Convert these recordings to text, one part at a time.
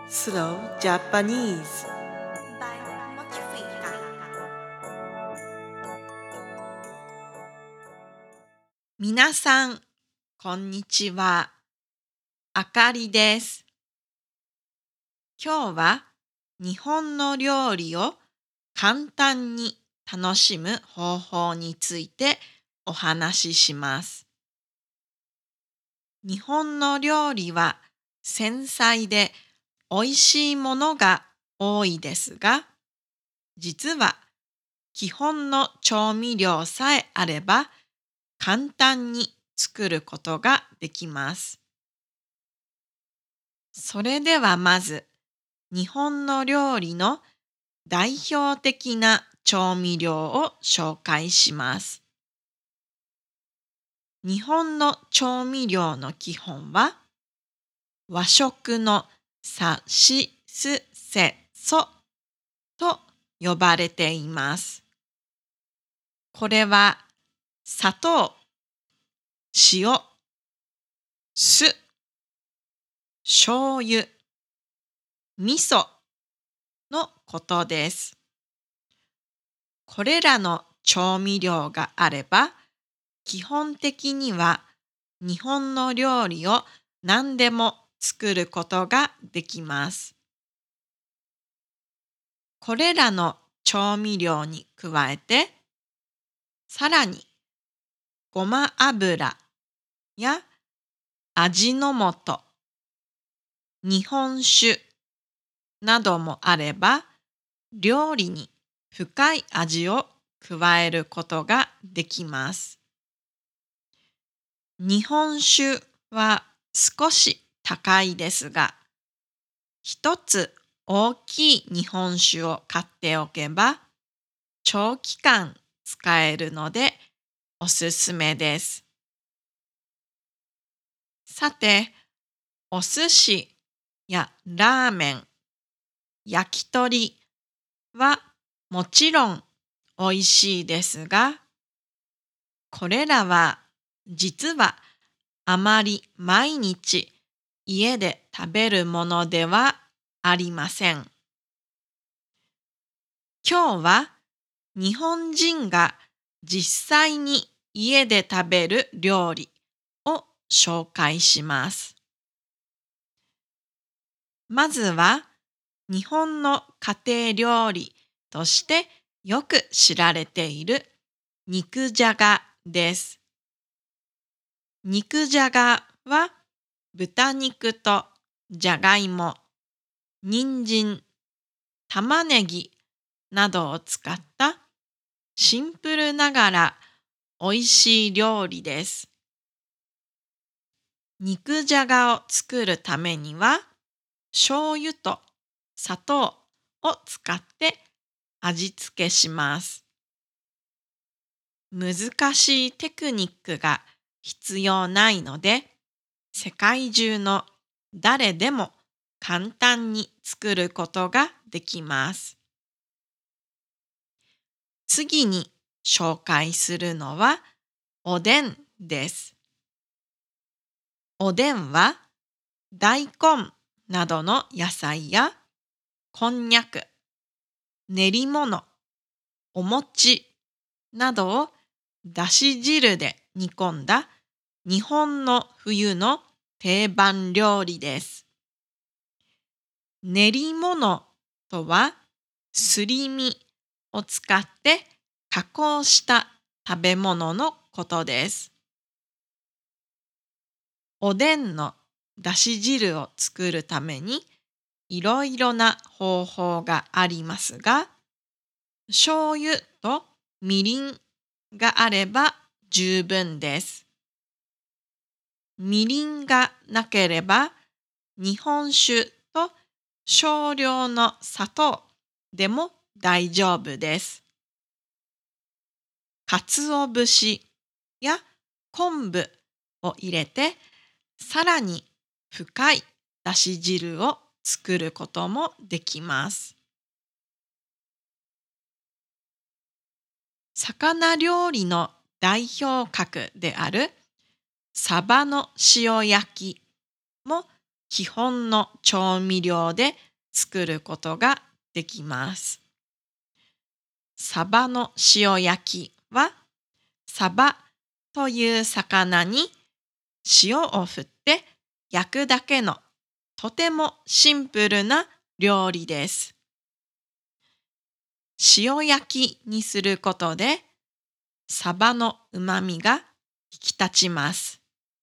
Slow Japanese. by Mochifika. 皆さん、こんにちは。あかりです。今日は日本の料理を簡単に楽しむ方法についてお話しします。日本の料理は繊細で美味しいものが多いですが、実は基本の調味料さえあれば簡単に作ることができます。それではまず、日本の料理の代表的な調味料を紹介します。日本の調味料の基本は、和食のさしすせそと呼ばれています。これは砂糖、塩、酢、醤油、味噌のことです。これらの調味料があれば、基本的には日本の料理を何でも作ることができます。これらの調味料に加えて、さらにごま油や味の素、日本酒などもあれば、料理に深い味を加えることができます。日本酒は少し高いですが、一つ大きい日本酒を買っておけば、長期間使えるのでおすすめです。さて、お寿司やラーメン、焼き鳥はもちろん美味しいですが、これらは実はあまり毎日家で食べるものではありません。今日は日本人が実際に家で食べる料理を紹介します。まずは日本の家庭料理としてよく知られている肉じゃがです。肉じゃがは豚肉とじゃがいも、人参、玉ねぎなどを使ったシンプルながら美味しい料理です。肉じゃがを作るためには、醤油と砂糖を使って味付けします。難しいテクニックが必要ないので、世界中の誰でも簡単に作ることができます。次に紹介するのはおでんです。おでんは大根などの野菜やこんにゃく、練り物、お餅などをだし汁で煮込んだ日本の冬の定番料理です。練り物とはすり身を使って加工した食べ物のことです。おでんのだし汁を作るためにいろいろな方法がありますが、醤油とみりんがあれば十分です。みりんがなければ日本酒と少量の砂糖でも大丈夫です。鰹節や昆布を入れて、さらに深いだし汁を作ることもできます。魚料理の代表格であるサバの塩焼きも基本の調味料で作ることができます。サバの塩焼きは、サバという魚に塩を振って焼くだけのとてもシンプルな料理です。塩焼きにすることで、サバのうまみが引き立ちます。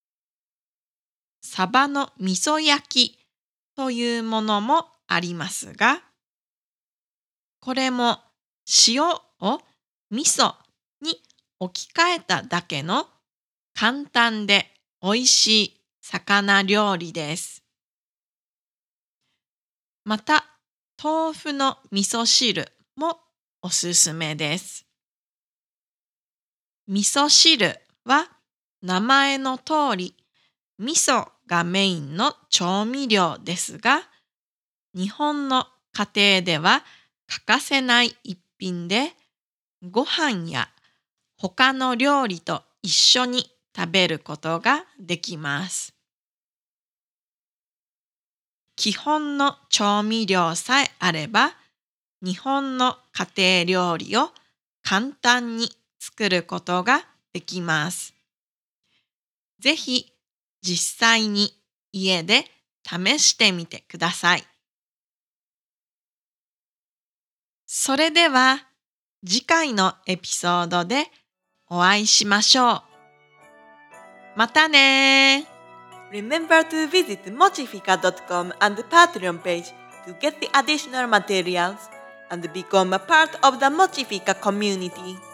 サバの味噌焼きというものもありますが、これも塩を味噌に置き換えただけの簡単で美味しい魚料理です。また、豆腐の味噌汁もおすすめです。味噌汁は名前の通り、味噌がメインの調味料ですが、日本の家庭では欠かせない一品で、ご飯や他の料理と一緒に食べることができます。基本の調味料さえあれば、日本の家庭料理を簡単に作ることができます。ぜひ実際に家で試してみてください。それでは次回のエピソードでお会いしましょう。またねー。 Remember to visit mochifica.com and the Patreon page to get the additional materials and become a part of the Mochifica community.